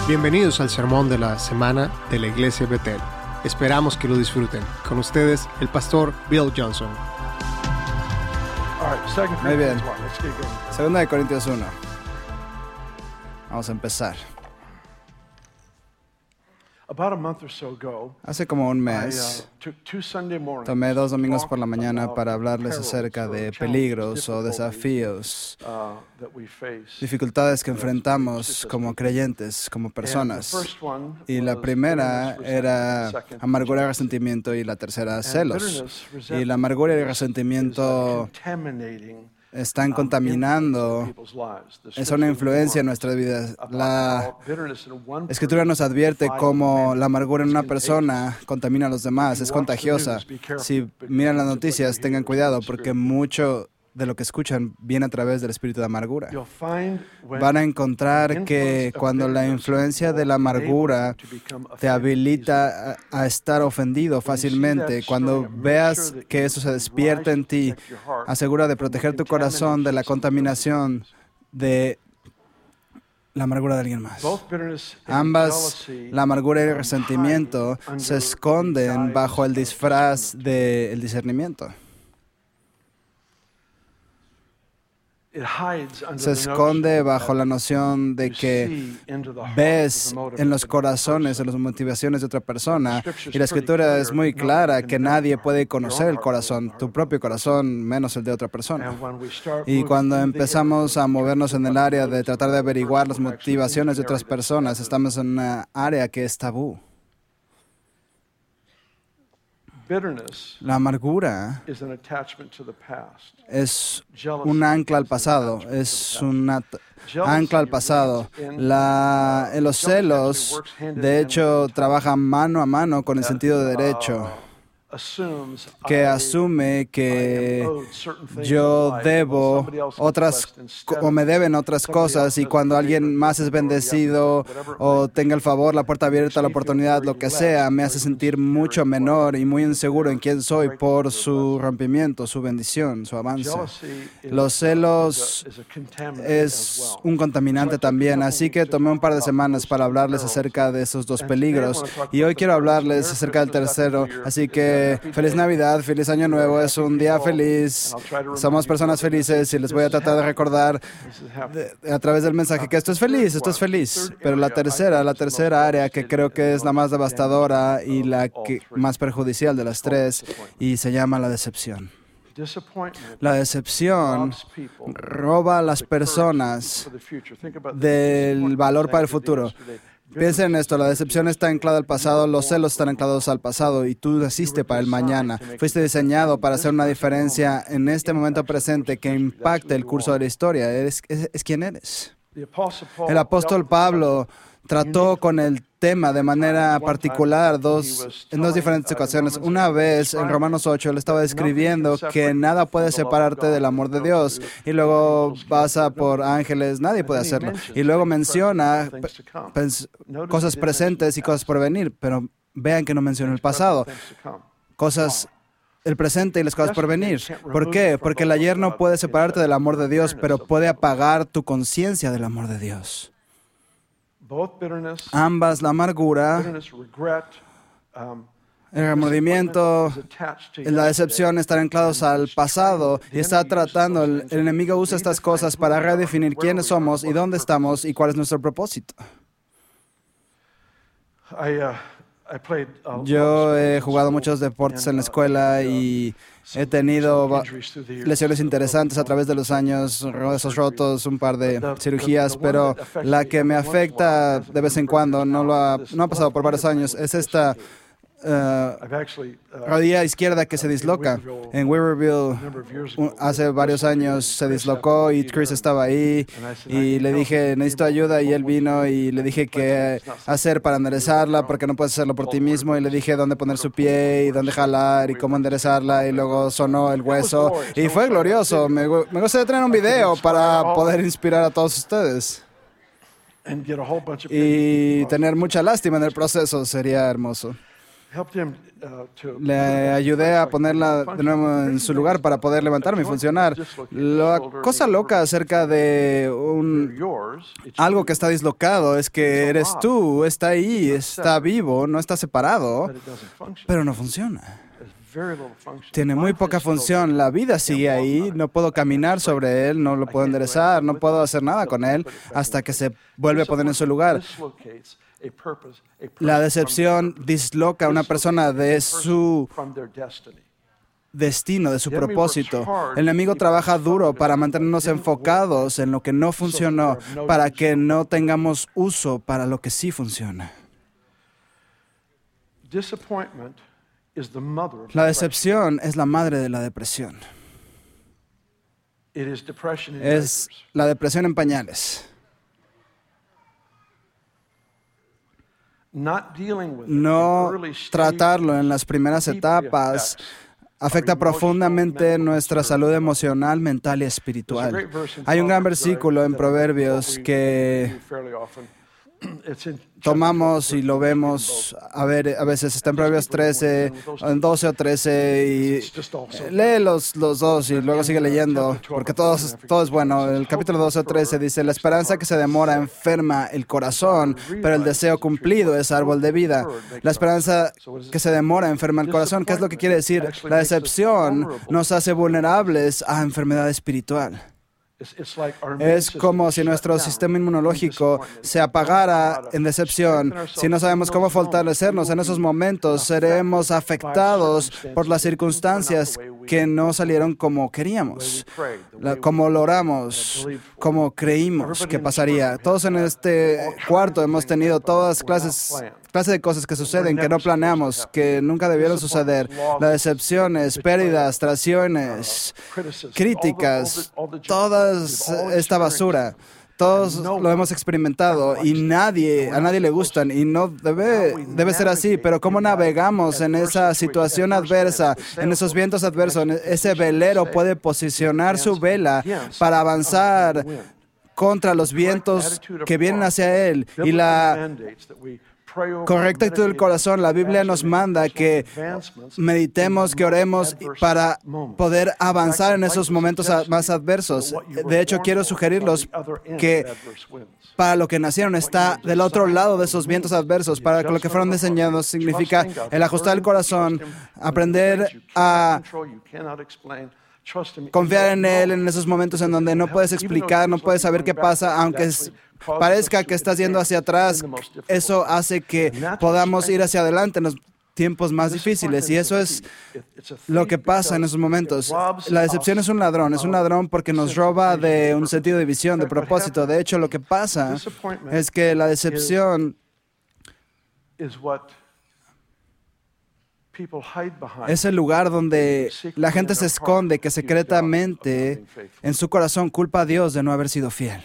Bienvenidos al sermón de la semana de la Iglesia Betel. Esperamos que lo disfruten. Con ustedes, el pastor Bill Johnson. Muy bien. Segunda de Corintios 1. Vamos a empezar. Hace como un mes, tomé 2 domingos por la mañana para hablarles acerca de peligros o desafíos, dificultades que enfrentamos como creyentes, como personas. Y la primera era amargura y resentimiento, y la tercera celos. Y la amargura y el resentimiento están contaminando, es una influencia en nuestras vidas. La Escritura nos advierte cómo la amargura en una persona contamina a los demás, es contagiosa. Si miran las noticias, tengan cuidado, porque mucho de lo que escuchan viene a través del espíritu de amargura. Van a encontrar que cuando la influencia de la amargura te habilita a estar ofendido fácilmente, cuando veas que eso se despierta en ti, asegura de proteger tu corazón de la contaminación de la amargura de alguien más. Ambas, la amargura y el resentimiento, se esconden bajo el disfraz del discernimiento. Se esconde bajo la noción de que ves en los corazones, en las motivaciones de otra persona, y la Escritura es muy clara que nadie puede conocer el corazón, tu propio corazón, menos el de otra persona. Y cuando empezamos a movernos en el área de tratar de averiguar las motivaciones de otras personas, estamos en una área que es tabú. La amargura es un ancla al pasado, Los celos, de hecho, trabajan mano a mano con el sentido de derecho, que asume que yo debo otras o me deben otras cosas, y cuando alguien más es bendecido o tenga el favor, la puerta abierta, la oportunidad, lo que sea, me hace sentir mucho menor y muy inseguro en quién soy por su rompimiento, su bendición, su avance. Los celos es un contaminante también, así que tomé un par de semanas para hablarles acerca de esos dos peligros, y hoy quiero hablarles acerca del tercero, así que feliz Navidad, feliz Año Nuevo, es un día feliz, somos personas felices, y les voy a tratar de recordar a través del mensaje que esto es feliz. Pero la tercera área, que creo que es la más devastadora y la más perjudicial de las tres, y se llama la decepción. La decepción roba a las personas del valor para el futuro. Piensen en esto, la decepción está anclada al pasado, los celos están anclados al pasado, y tú naciste para el mañana. Fuiste diseñado para hacer una diferencia en este momento presente que impacte el curso de la historia. Es quien eres. El apóstol Pablo trató con el tema de manera particular en dos diferentes ocasiones. Una vez, en Romanos 8, él estaba describiendo que nada puede separarte del amor de Dios, y luego pasa por ángeles, nadie puede hacerlo. Y luego menciona cosas presentes y cosas por venir, pero vean que no menciona el pasado. El presente y las cosas por venir. ¿Por qué? Porque el ayer no puede separarte del amor de Dios, pero puede apagar tu conciencia del amor de Dios. Ambas, la amargura, el remordimiento, la decepción, están anclados al pasado, y está tratando, el enemigo usa estas cosas para redefinir quiénes somos y dónde estamos y cuál es nuestro propósito. Yo he jugado muchos deportes en la escuela y he tenido lesiones interesantes a través de los años, huesos rotos, un par de cirugías, pero la que me afecta de vez en cuando, no ha pasado por varios años, es esta rodilla izquierda que se disloca. En Weaverville hace varios años se dislocó, y Chris estaba ahí, y le dije, necesito ayuda, y él vino, y le dije qué hacer para enderezarla, porque no puedes hacerlo por ti mismo, y le dije dónde poner su pie y dónde jalar y cómo enderezarla, y luego sonó el hueso, y fue glorioso. Me gustaría tener un video para poder inspirar a todos ustedes, y tener mucha lástima en el proceso sería hermoso. Le ayudé a ponerla de nuevo en su lugar para poder levantarme y funcionar. La cosa loca acerca de algo que está dislocado es que eres tú, está ahí, está vivo, no está separado, pero no funciona. Tiene muy poca función. La vida sigue ahí. No puedo caminar sobre él, no lo puedo enderezar, no puedo hacer nada con él hasta que se vuelve a poner en su lugar. La decepción disloca a una persona de su destino, de su propósito. El enemigo trabaja duro para mantenernos enfocados en lo que no funcionó, para que no tengamos uso para lo que sí funciona. La decepción es la madre de la depresión. Es la depresión en pañales. No tratarlo en las primeras etapas afecta profundamente nuestra salud emocional, mental y espiritual. Hay un gran versículo en Proverbios que tomamos y lo vemos, a veces está en Proverbios 13, en 12 o 13, y lee los dos y luego sigue leyendo, porque todo es bueno. El capítulo 12 o 13 dice: la esperanza que se demora enferma el corazón, pero el deseo cumplido es árbol de vida. La esperanza que se demora enferma el corazón. ¿Qué es lo que quiere decir? La decepción nos hace vulnerables a enfermedad espiritual. Es como si nuestro sistema inmunológico se apagara en decepción. Si no sabemos cómo fortalecernos en esos momentos, seremos afectados por las circunstancias que no salieron como queríamos, como lo oramos, como creímos que pasaría. Todos en este cuarto hemos tenido todas clases de cosas que suceden, que no planeamos, que nunca debieron suceder. Las decepciones, pérdidas, traiciones, críticas, toda esta basura. Todos lo hemos experimentado y a nadie le gustan y no debe ser así. Pero ¿cómo navegamos en esa situación adversa, en esos vientos adversos? Ese velero puede posicionar su vela para avanzar contra los vientos que vienen hacia él. Y la correcta actitud del corazón, la Biblia nos manda que meditemos, que oremos para poder avanzar en esos momentos más adversos. De hecho, quiero sugerirlos que para lo que nacieron está del otro lado de esos vientos adversos. Para lo que fueron diseñados significa el ajustar el corazón, aprender a confiar en Él en esos momentos en donde no puedes explicar, no puedes saber qué pasa, aunque parezca que estás yendo hacia atrás. Eso hace que podamos ir hacia adelante en los tiempos más difíciles, y eso es lo que pasa en esos momentos. La decepción es un ladrón porque nos roba de un sentido de visión, de propósito. De hecho, lo que pasa es que la decepción es el lugar donde la gente se esconde, que secretamente en su corazón culpa a Dios de no haber sido fiel.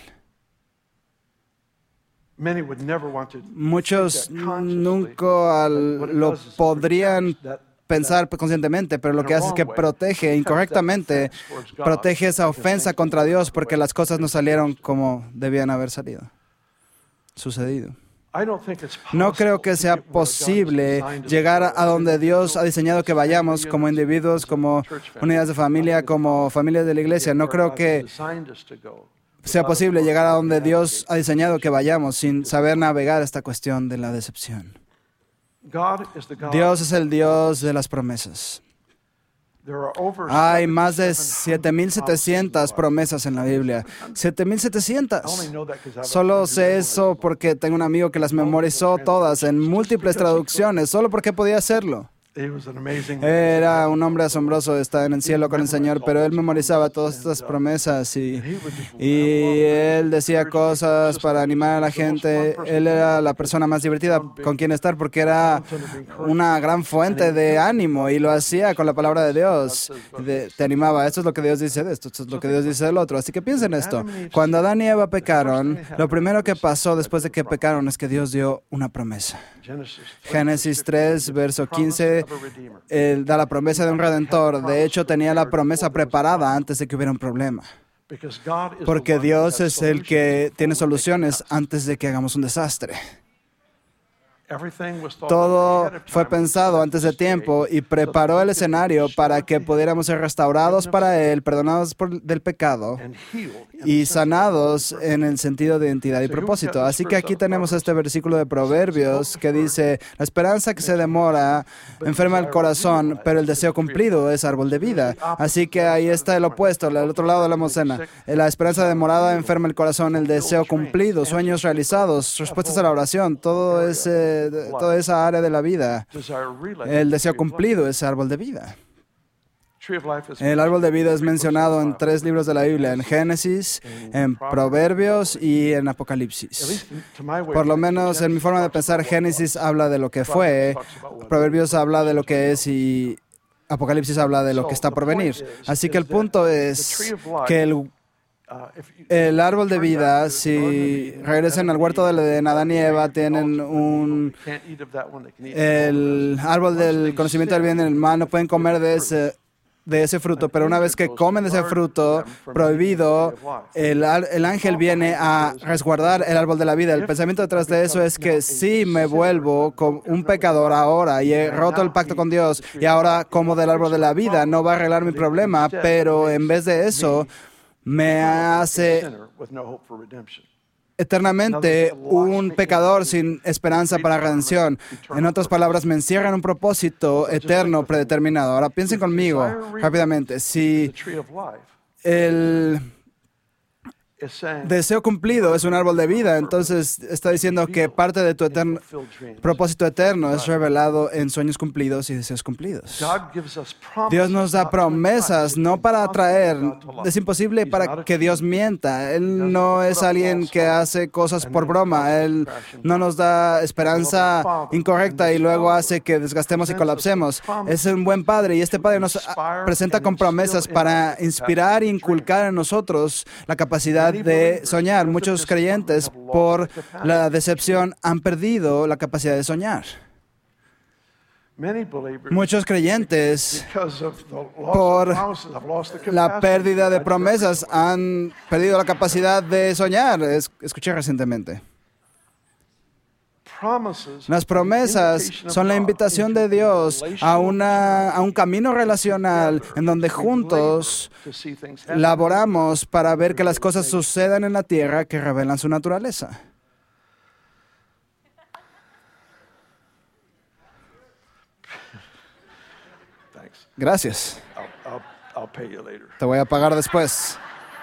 Muchos nunca lo podrían pensar conscientemente, pero lo que hace es que protege incorrectamente, protege esa ofensa contra Dios porque las cosas no salieron como debían haber sucedido. No creo que sea posible llegar a donde Dios ha diseñado que vayamos como individuos, como unidades de familia, como familias de la iglesia. No creo que sea posible llegar a donde Dios ha diseñado que vayamos sin saber navegar esta cuestión de la decepción. Dios es el Dios de las promesas. Hay más de 7,700 promesas en la Biblia. 7,700. Solo sé eso porque tengo un amigo que las memorizó todas en múltiples traducciones, solo porque podía hacerlo. Era un hombre asombroso, está en el cielo con el Señor, pero él memorizaba todas estas promesas y él decía cosas para animar a la gente. Él era la persona más divertida con quien estar porque era una gran fuente de ánimo y lo hacía con la palabra de Dios. Te animaba, esto es lo que Dios dice de esto, esto es lo que Dios dice del otro. Así que piensen esto. Cuando Adán y Eva pecaron, lo primero que pasó después de que pecaron es que Dios dio una promesa. Génesis 3, verso 15. Él da la promesa de un redentor. De hecho, tenía la promesa preparada antes de que hubiera un problema. Porque Dios es el que tiene soluciones antes de que hagamos un desastre. Todo fue pensado antes de tiempo y preparó el escenario para que pudiéramos ser restaurados para Él, perdonados del pecado y sanados en el sentido de identidad y propósito. Así que aquí tenemos este versículo de Proverbios que dice, la esperanza que se demora enferma el corazón, pero el deseo cumplido es árbol de vida. Así que ahí está el opuesto, el otro lado de la moneda. La esperanza demorada enferma el corazón, el deseo cumplido, sueños realizados, respuestas a la oración, toda esa área de la vida. El deseo cumplido es árbol de vida. El árbol de vida es mencionado en 3 libros de la Biblia, en Génesis, en Proverbios y en Apocalipsis. Por lo menos en mi forma de pensar, Génesis habla de lo que fue, Proverbios habla de lo que es y Apocalipsis habla de lo que está por venir. Así que el punto es que el árbol de vida, si regresan al huerto del Edén, Adán y Eva tienen el árbol del conocimiento del bien y del mal, no pueden comer de ese fruto, pero una vez que comen de ese fruto prohibido, el ángel viene a resguardar el árbol de la vida. El pensamiento detrás de eso es que si me vuelvo como un pecador ahora y he roto el pacto con Dios y ahora como del árbol de la vida, no va a arreglar mi problema, pero en vez de eso, me hace eternamente un pecador sin esperanza para redención. En otras palabras, me encierra en un propósito eterno predeterminado. Ahora piensen conmigo rápidamente. Si el deseo cumplido es un árbol de vida, entonces está diciendo que parte de tu propósito eterno es revelado en sueños cumplidos y deseos cumplidos. Dios nos da promesas no para atraer, es imposible para que Dios mienta. Él no es alguien que hace cosas por broma. Él no nos da esperanza incorrecta y luego hace que desgastemos y colapsemos. Es un buen Padre y este Padre nos presenta con promesas para inspirar e inculcar en nosotros la capacidad de soñar. Muchos creyentes, por la decepción, han perdido la capacidad de soñar. Muchos creyentes, por la pérdida de promesas, han perdido la capacidad de soñar. Escuché recientemente. Las promesas son la invitación de Dios a un camino relacional en donde juntos laboramos para ver que las cosas sucedan en la tierra que revelan su naturaleza. Gracias. Te voy a pagar después.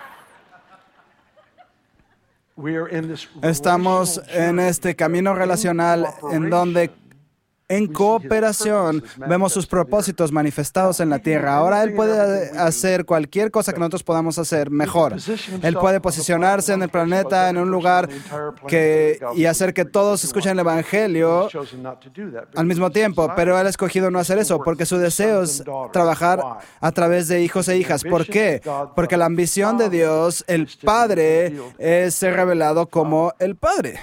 Estamos en este camino relacional en donde en cooperación vemos sus propósitos manifestados en la tierra. Ahora Él puede hacer cualquier cosa que nosotros podamos hacer mejor. Él puede posicionarse en el planeta en un lugar y hacer que todos escuchen el Evangelio al mismo tiempo, pero Él ha escogido no hacer eso porque su deseo es trabajar a través de hijos e hijas. ¿Por qué? Porque la ambición de Dios, el Padre, es ser revelado como el Padre.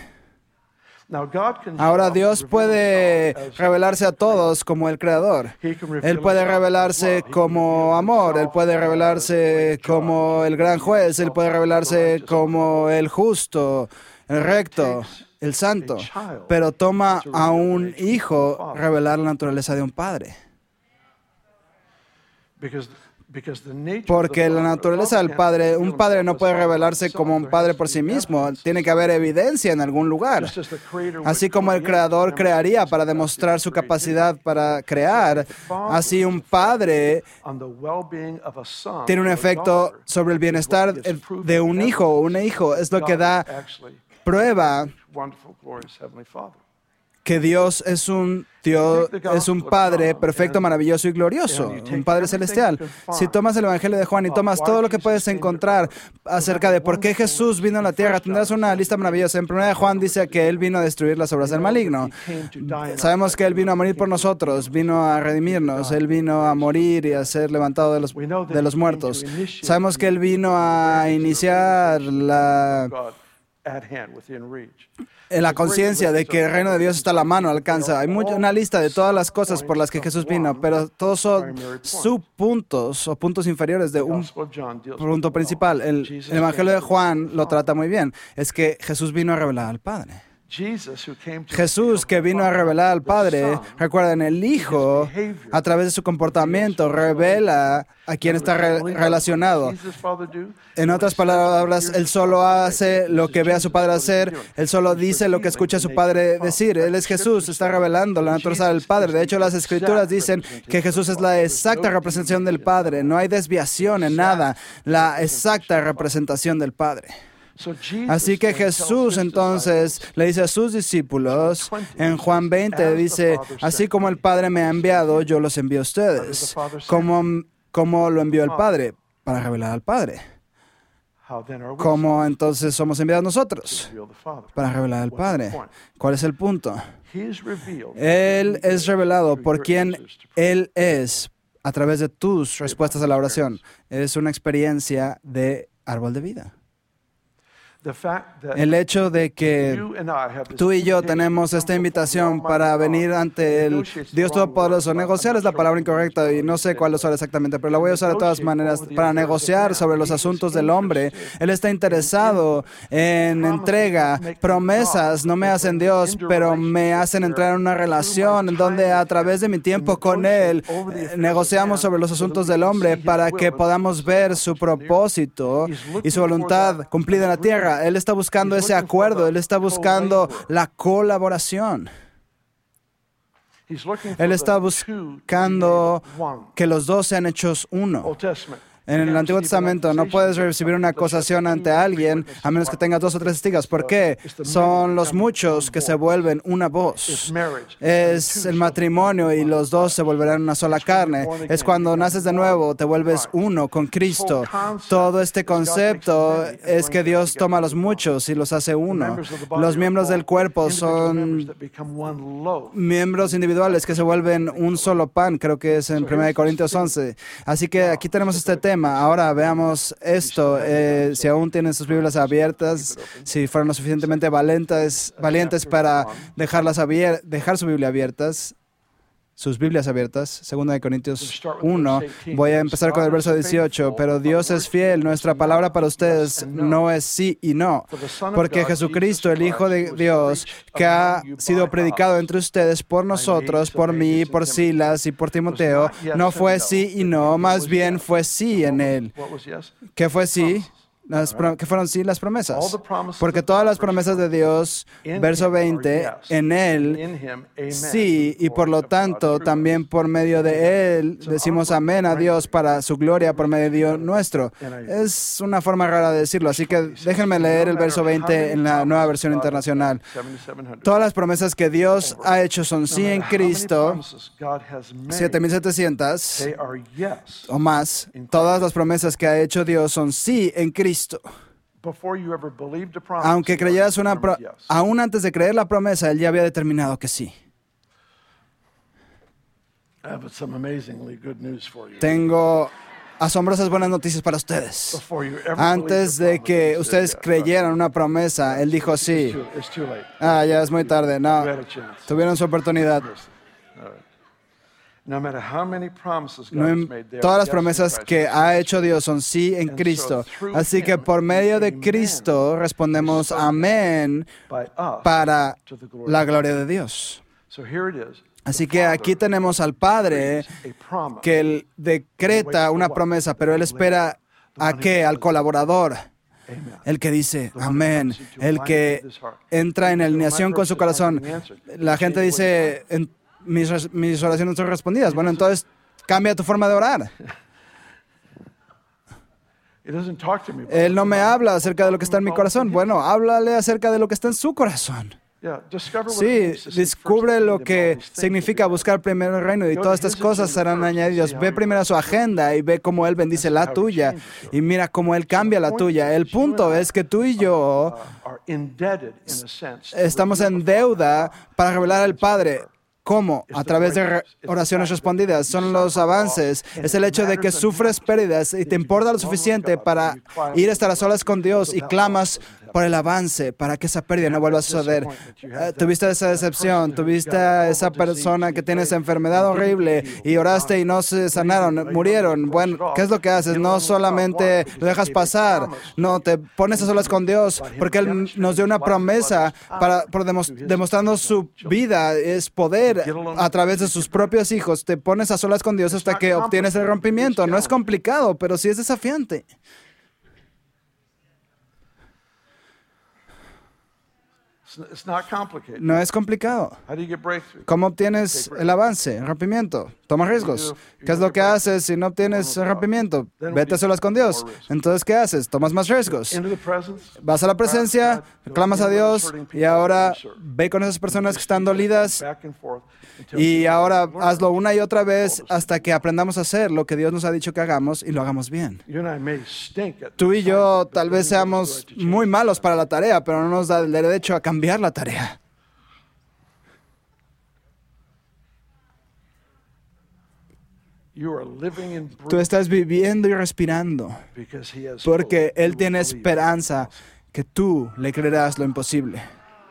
Ahora Dios puede revelarse a todos como el Creador. Él puede revelarse como amor. Él puede revelarse como el gran juez. Él puede revelarse como el justo, el recto, el santo. Pero toma a un hijo revelar la naturaleza de un padre. Porque la naturaleza del Padre, un padre no puede revelarse como un padre por sí mismo. Tiene que haber evidencia en algún lugar. Así como el Creador crearía para demostrar su capacidad para crear, así un padre tiene un efecto sobre el bienestar de un hijo o una hija. Es lo que da prueba que Dios es un Padre perfecto, maravilloso y glorioso, un Padre celestial. Si tomas el Evangelio de Juan y tomas todo lo que puedes encontrar acerca de por qué Jesús vino a la tierra, tendrás una lista maravillosa. En 1 Juan dice que Él vino a destruir las obras del maligno. Sabemos que Él vino a morir por nosotros, vino a redimirnos, Él vino a morir y a ser levantado de los muertos. Sabemos que Él vino a iniciar la conciencia de que el reino de Dios está a la mano, alcanza. Hay una lista de todas las cosas por las que Jesús vino, pero todos son subpuntos o puntos inferiores de un punto principal. El Evangelio de Juan lo trata muy bien. Es que Jesús vino a revelar al Padre. Jesús, que vino a revelar al Padre, recuerden, el Hijo, a través de su comportamiento, revela a quién está relacionado. En otras palabras, Él solo hace lo que ve a su Padre hacer, Él solo dice lo que escucha a su Padre decir. Él es Jesús, está revelando la naturaleza del Padre. De hecho, las Escrituras dicen que Jesús es la exacta representación del Padre. No hay desviación en nada, la exacta representación del Padre. Así que Jesús entonces le dice a sus discípulos, en Juan 20 dice, así como el Padre me ha enviado, yo los envío a ustedes. ¿Cómo lo envió el Padre? Para revelar al Padre. ¿Cómo entonces somos enviados nosotros? Para revelar al Padre. ¿Cuál es el punto? Él es revelado por quien Él es a través de tus respuestas a la oración. Es una experiencia de árbol de vida. El hecho de que tú y yo tenemos esta invitación para venir ante el Dios Todopoderoso. Negociar es la palabra incorrecta y no sé cuál usar exactamente, pero la voy a usar de todas maneras para negociar sobre los asuntos del hombre. Él está interesado en entrega. Promesas no me hacen Dios, pero me hacen entrar en una relación en donde a través de mi tiempo con Él negociamos sobre los asuntos del hombre para que podamos ver su propósito y su voluntad cumplida en la tierra. Él está buscando ese acuerdo, Él está buscando la colaboración. Él está buscando que los dos sean hechos uno. En el Antiguo Testamento no puedes recibir una acusación ante alguien a menos que tengas 2 o 3 testigos. ¿Por qué? Son los muchos que se vuelven una voz. Es el matrimonio y los dos se volverán una sola carne. Es cuando naces de nuevo, te vuelves uno con Cristo. Todo este concepto es que Dios toma a los muchos y los hace uno. Los miembros del cuerpo son miembros individuales que se vuelven un solo pan. Creo que es en 1 Corintios 11. Así que aquí tenemos este tema. Ahora veamos esto. Si aún tienen sus Biblias abiertas, si fueron lo suficientemente valientes para dejar su Biblia abiertas, sus Biblias abiertas, 2 Corintios 1. Voy a empezar con el verso 18. Pero Dios es fiel, nuestra palabra para ustedes no es sí y no. Porque Jesucristo, el Hijo de Dios, que ha sido predicado entre ustedes por nosotros, por mí, por Silas y por Timoteo, no fue sí y no, más bien fue sí en Él. ¿Qué fue sí? Que fueron sí las promesas. Porque todas las promesas de Dios, verso 20, en Él, sí, y por lo tanto también por medio de Él decimos amén a Dios para su gloria por medio nuestro. Es una forma rara de decirlo, así que déjenme leer el verso 20 en la Nueva Versión Internacional. Todas las promesas que Dios ha hecho son sí en Cristo, 7,700 o más. Todas las promesas que ha hecho Dios son sí en Cristo. Aunque creyeras aún antes de creer la promesa, Él ya había determinado que sí. Tengo asombrosas buenas noticias para ustedes. Antes de que ustedes creyeran una promesa, Él dijo sí. Ya es muy tarde. No, tuvieron su oportunidad. Todas las promesas que ha hecho Dios son sí en Cristo. Así que por medio de Cristo respondemos amén para la gloria de Dios. Así que aquí tenemos al Padre que Él decreta una promesa, pero Él espera ¿a qué? Al colaborador. El que dice amén, el que entra en alineación con su corazón. La gente dice, mis oraciones son respondidas. Bueno, entonces cambia tu forma de orar. Él no me habla acerca de lo que está en mi corazón. Bueno, háblale acerca de lo que está en su corazón. Sí, descubre lo que significa buscar primero el reino y todas estas cosas serán añadidas. Ve primero su agenda y ve cómo Él bendice la tuya y mira cómo Él cambia la tuya. El punto es que tú y yo estamos en deuda para revelar al Padre. ¿Cómo? A través de oraciones respondidas. Son los avances. Es el hecho de que sufres pérdidas y te importa lo suficiente para ir a estar a solas con Dios y clamas por el avance, para que esa pérdida no vuelva a suceder. Tuviste esa decepción, tuviste a esa persona que tiene esa enfermedad horrible y oraste y no se sanaron, murieron. Bueno, ¿qué es lo que haces? No solamente lo dejas pasar, no, te pones a solas con Dios, porque Él nos dio una promesa demostrando su vida, es poder a través de sus propios hijos. Te pones a solas con Dios hasta que obtienes el rompimiento. No es complicado, pero sí es desafiante. No es complicado. ¿Cómo obtienes el avance, el rompimiento? Toma riesgos. ¿Qué es lo que haces si no obtienes el rompimiento? Vete a solas con Dios. Entonces, ¿qué haces? Tomas más riesgos. Vas a la presencia, clamas a Dios y ahora ve con esas personas que están dolidas y ahora hazlo una y otra vez hasta que aprendamos a hacer lo que Dios nos ha dicho que hagamos y lo hagamos bien. Tú y yo tal vez seamos muy malos para la tarea, pero no nos da el derecho a cambiar la tarea. Tú estás viviendo y respirando porque Él tiene esperanza que tú le creerás lo imposible.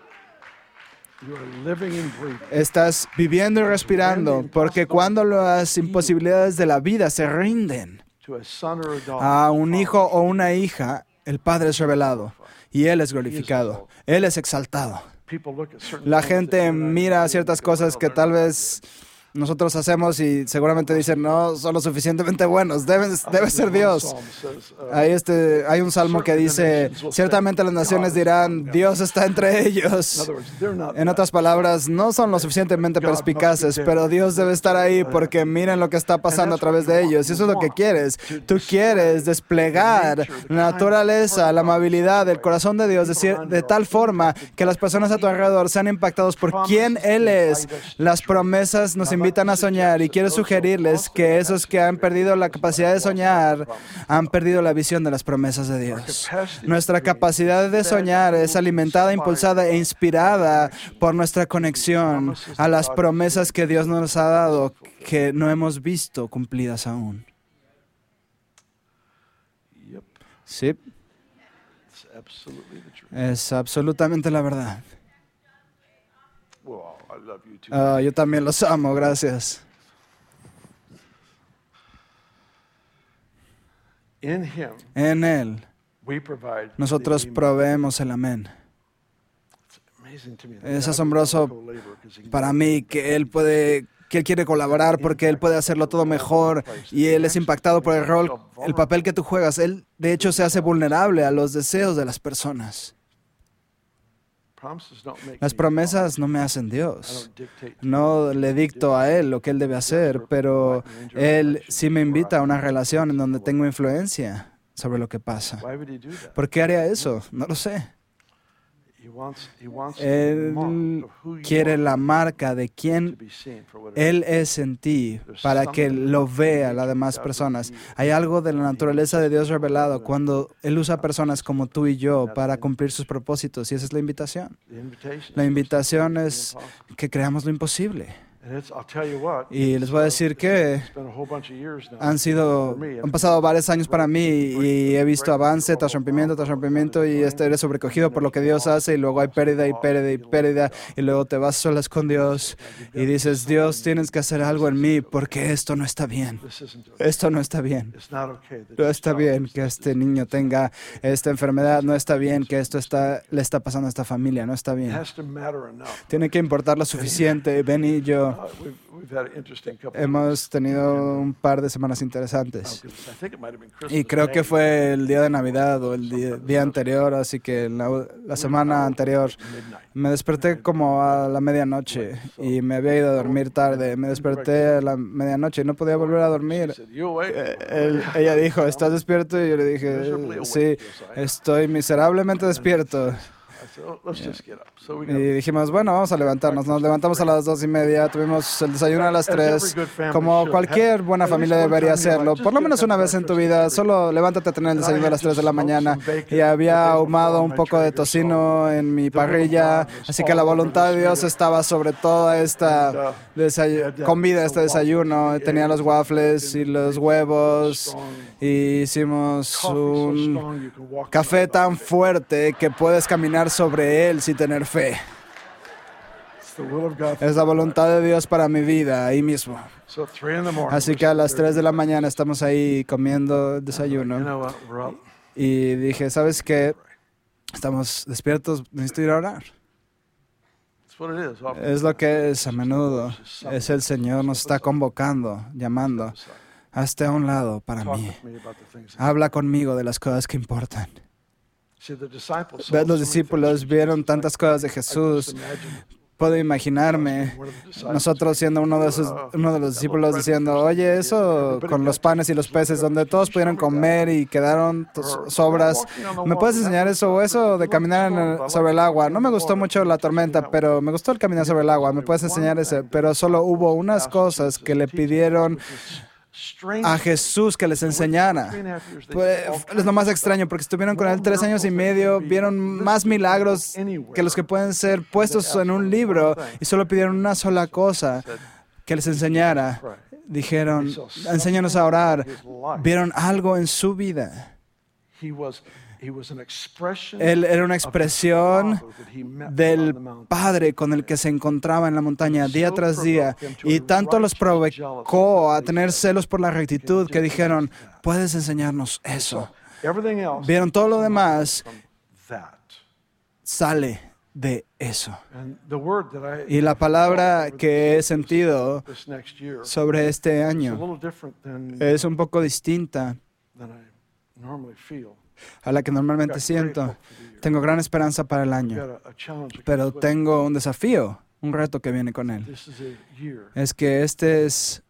Estás viviendo y respirando porque cuando las imposibilidades de la vida se rinden a un hijo o una hija, el Padre es revelado y Él es glorificado, Él es exaltado. La gente mira ciertas cosas que tal vez nosotros hacemos y seguramente dicen, no son lo suficientemente buenos, debe ser Dios. Hay un salmo que dice, ciertamente las naciones dirán, Dios está entre ellos. En otras palabras, no son lo suficientemente perspicaces, pero Dios debe estar ahí porque miren lo que está pasando a través de ellos. Y eso es lo que quieres. Tú quieres desplegar la naturaleza, la amabilidad, el corazón de Dios de tal forma que las personas a tu alrededor sean impactados por quién Él es. Las promesas nos invitan a soñar y quiero sugerirles que esos que han perdido la capacidad de soñar han perdido la visión de las promesas de Dios. Nuestra capacidad de soñar es alimentada, impulsada e inspirada por nuestra conexión a las promesas que Dios nos ha dado que no hemos visto cumplidas aún. Sí, es absolutamente la verdad. Yo también los amo, gracias. En Él, nosotros proveemos el amén. Es asombroso para mí que Él quiere colaborar porque Él puede hacerlo todo mejor y Él es impactado por el papel que tú juegas. Él, de hecho, se hace vulnerable a los deseos de las personas. Las promesas no me hacen Dios. No le dicto a Él lo que Él debe hacer, pero Él sí me invita a una relación en donde tengo influencia sobre lo que pasa. ¿Por qué haría eso? No lo sé. Él quiere la marca de quién Él es en ti para que lo vea las demás personas. Hay algo de la naturaleza de Dios revelado cuando Él usa personas como tú y yo para cumplir sus propósitos y esa es la invitación. La invitación es que creamos lo imposible. Y les voy a decir que han pasado varios años para mí y he visto avance tras rompimiento y eres sobrecogido por lo que Dios hace y luego hay pérdida y luego te vas solas con Dios y dices, Dios, tienes que hacer algo en mí porque esto no está bien. Esto no está bien. No está bien que este niño tenga esta enfermedad, no está bien que esto le está pasando a esta familia, no está bien. Tiene que importar lo suficiente. Ben y yo hemos tenido un par de semanas interesantes y creo que fue el día de Navidad o el día anterior, así que la semana anterior me desperté como a la medianoche y me había ido a dormir tarde. Me desperté a la medianoche y no podía volver a dormir. Ella dijo, ¿estás despierto? Y yo le dije, sí, estoy miserablemente despierto. Y dijimos, bueno, vamos a levantarnos. Nos levantamos a las 2:30, tuvimos el desayuno a las 3, como cualquier buena familia debería hacerlo. Por lo menos una vez en tu vida, solo levántate a tener el desayuno a las 3 de la mañana. Y había ahumado un poco de tocino en mi parrilla, así que la voluntad de Dios estaba sobre toda esta comida, este desayuno. Tenía los waffles y los huevos, y hicimos un café tan fuerte que puedes caminar sobre él sin tener fe. Es la voluntad de Dios para mi vida, ahí mismo. Así que a las 3 de la mañana estamos ahí comiendo el desayuno. Y dije, ¿sabes qué? Estamos despiertos, necesito ir a orar. Es lo que es a menudo. Es el Señor, nos está convocando, llamando. Hazte a un lado para mí. Habla conmigo de las cosas que importan. Los discípulos vieron tantas cosas de Jesús. Puedo imaginarme nosotros siendo uno de los discípulos diciendo, oye, eso con los panes y los peces, donde todos pudieron comer y quedaron sobras, ¿me puedes enseñar eso o eso de caminar sobre el agua? No me gustó mucho la tormenta, pero me gustó el caminar sobre el agua. ¿Me puedes enseñar eso? Pero solo hubo unas cosas que le pidieron a Jesús que les enseñara. Pues, es lo más extraño, porque estuvieron con él 3 años y medio, vieron más milagros que los que pueden ser puestos en un libro, y solo pidieron una sola cosa, que les enseñara. Dijeron, enséñanos a orar. Vieron algo en su vida. Él era una expresión del Padre con el que se encontraba en la montaña día tras día, y tanto los provocó a tener celos por la rectitud que dijeron, ¿puedes enseñarnos eso? Vieron todo lo demás, sale de eso. Y la palabra que he sentido sobre este año es un poco distinta a la que normalmente siento. Tengo gran esperanza para el año, pero tengo un desafío, un reto que viene con él. Es que este es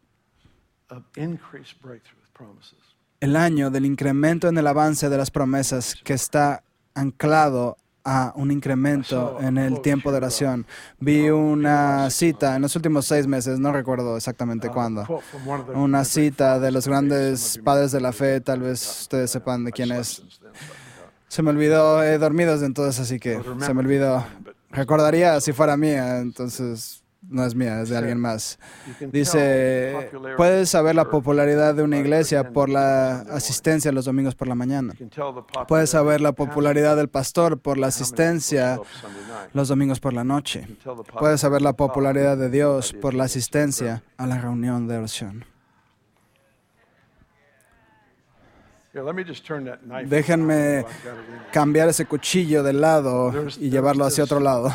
el año del incremento en el avance de las promesas, que está anclado a un incremento en el tiempo de oración. Vi una cita en los últimos 6 meses, no recuerdo exactamente cuándo, una cita de los grandes padres de la fe, tal vez ustedes sepan de quién es. Se me olvidó, he dormido desde entonces, así que se me olvidó. Recordaría si fuera mía, entonces no es mía, es de alguien más. Dice, puedes saber la popularidad de una iglesia por la asistencia los domingos por la mañana. Puedes saber la popularidad del pastor por la asistencia los domingos por la noche. Puedes saber la popularidad de Dios por la asistencia a la reunión de oración. Déjenme cambiar ese cuchillo de lado y llevarlo hacia otro lado.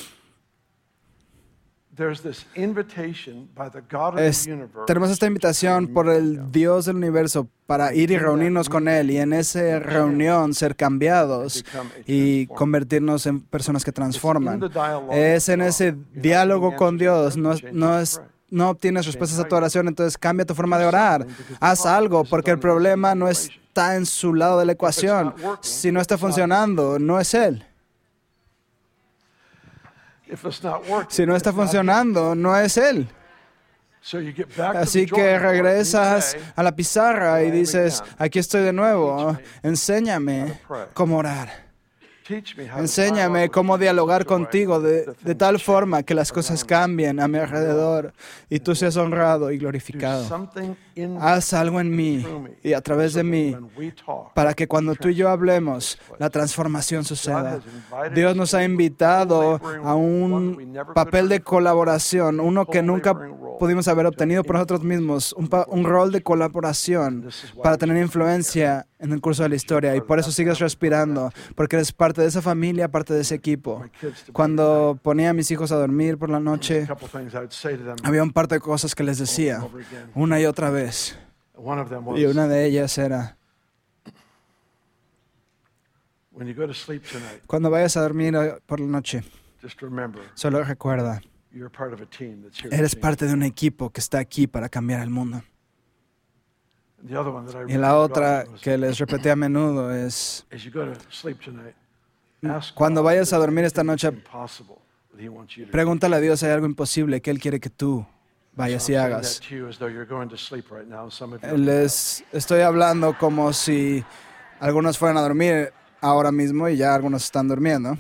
Tenemos esta invitación por el Dios del universo para ir y reunirnos con Él, y en esa reunión ser cambiados y convertirnos en personas que transforman. Es en ese diálogo con Dios. No obtienes respuestas a tu oración, entonces cambia tu forma de orar. Haz algo, porque el problema no está en su lado de la ecuación. Si no está funcionando, no es Él. Si no está funcionando, no es Él. Así que regresas a la pizarra y dices, aquí estoy de nuevo, enséñame cómo orar. Enséñame cómo dialogar contigo de tal forma que las cosas cambien a mi alrededor y tú seas honrado y glorificado. Haz algo en mí y a través de mí para que cuando tú y yo hablemos, la transformación suceda. Dios nos ha invitado a un papel de colaboración, uno que nunca pudimos haber obtenido por nosotros mismos, un rol de colaboración para tener influencia en el curso de la historia, y por eso sigues respirando, porque eres parte de esa familia, parte de ese equipo. Cuando ponía a mis hijos a dormir por la noche, había un par de cosas que les decía una y otra vez, y una de ellas era, cuando vayas a dormir por la noche, solo recuerda, eres parte de un equipo que está aquí para cambiar el mundo. Y la otra que les repetí a menudo es, Cuando vayas a dormir esta noche, pregúntale a Dios si hay algo imposible que Él quiere que tú vayas y hagas. Les estoy hablando como si algunos fueran a dormir ahora mismo y ya algunos están durmiendo.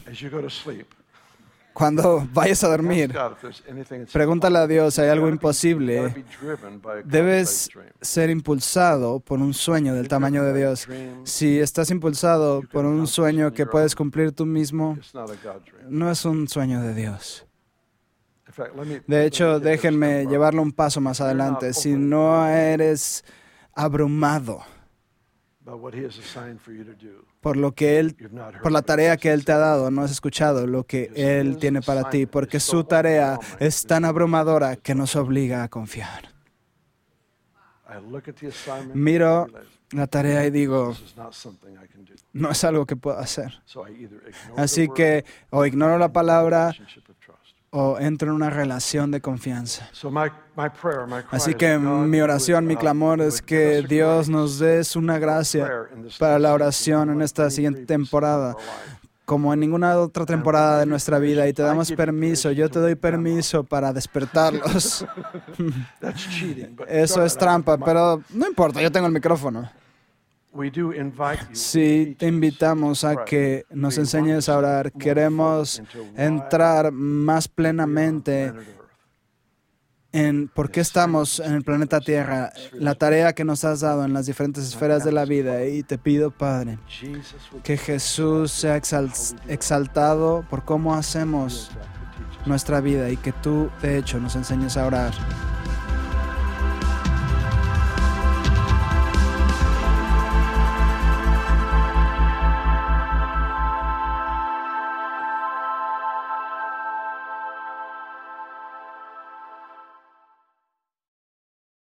Cuando vayas a dormir, pregúntale a Dios si hay algo imposible. Debes ser impulsado por un sueño del tamaño de Dios. Si estás impulsado por un sueño que puedes cumplir tú mismo, no es un sueño de Dios. De hecho, déjenme llevarlo un paso más adelante. Si no eres abrumado por la tarea que Él te ha dado, no has escuchado lo que Él tiene para ti, porque su tarea es tan abrumadora que nos obliga a confiar. Miro la tarea y digo, no es algo que puedo hacer. Así que o ignoro la palabra o entro en una relación de confianza. Así que mi oración, mi clamor es que Dios nos dé una gracia para la oración en esta siguiente temporada, como en ninguna otra temporada de nuestra vida, y te damos permiso, yo te doy permiso para despertarlos. Eso es trampa, pero no importa, yo tengo el micrófono. Sí, te invitamos a que nos enseñes a orar. Queremos entrar más plenamente en por qué estamos en el planeta Tierra, la tarea que nos has dado en las diferentes esferas de la vida. Y te pido, Padre, que Jesús sea exaltado por cómo hacemos nuestra vida y que tú, de hecho, nos enseñes a orar.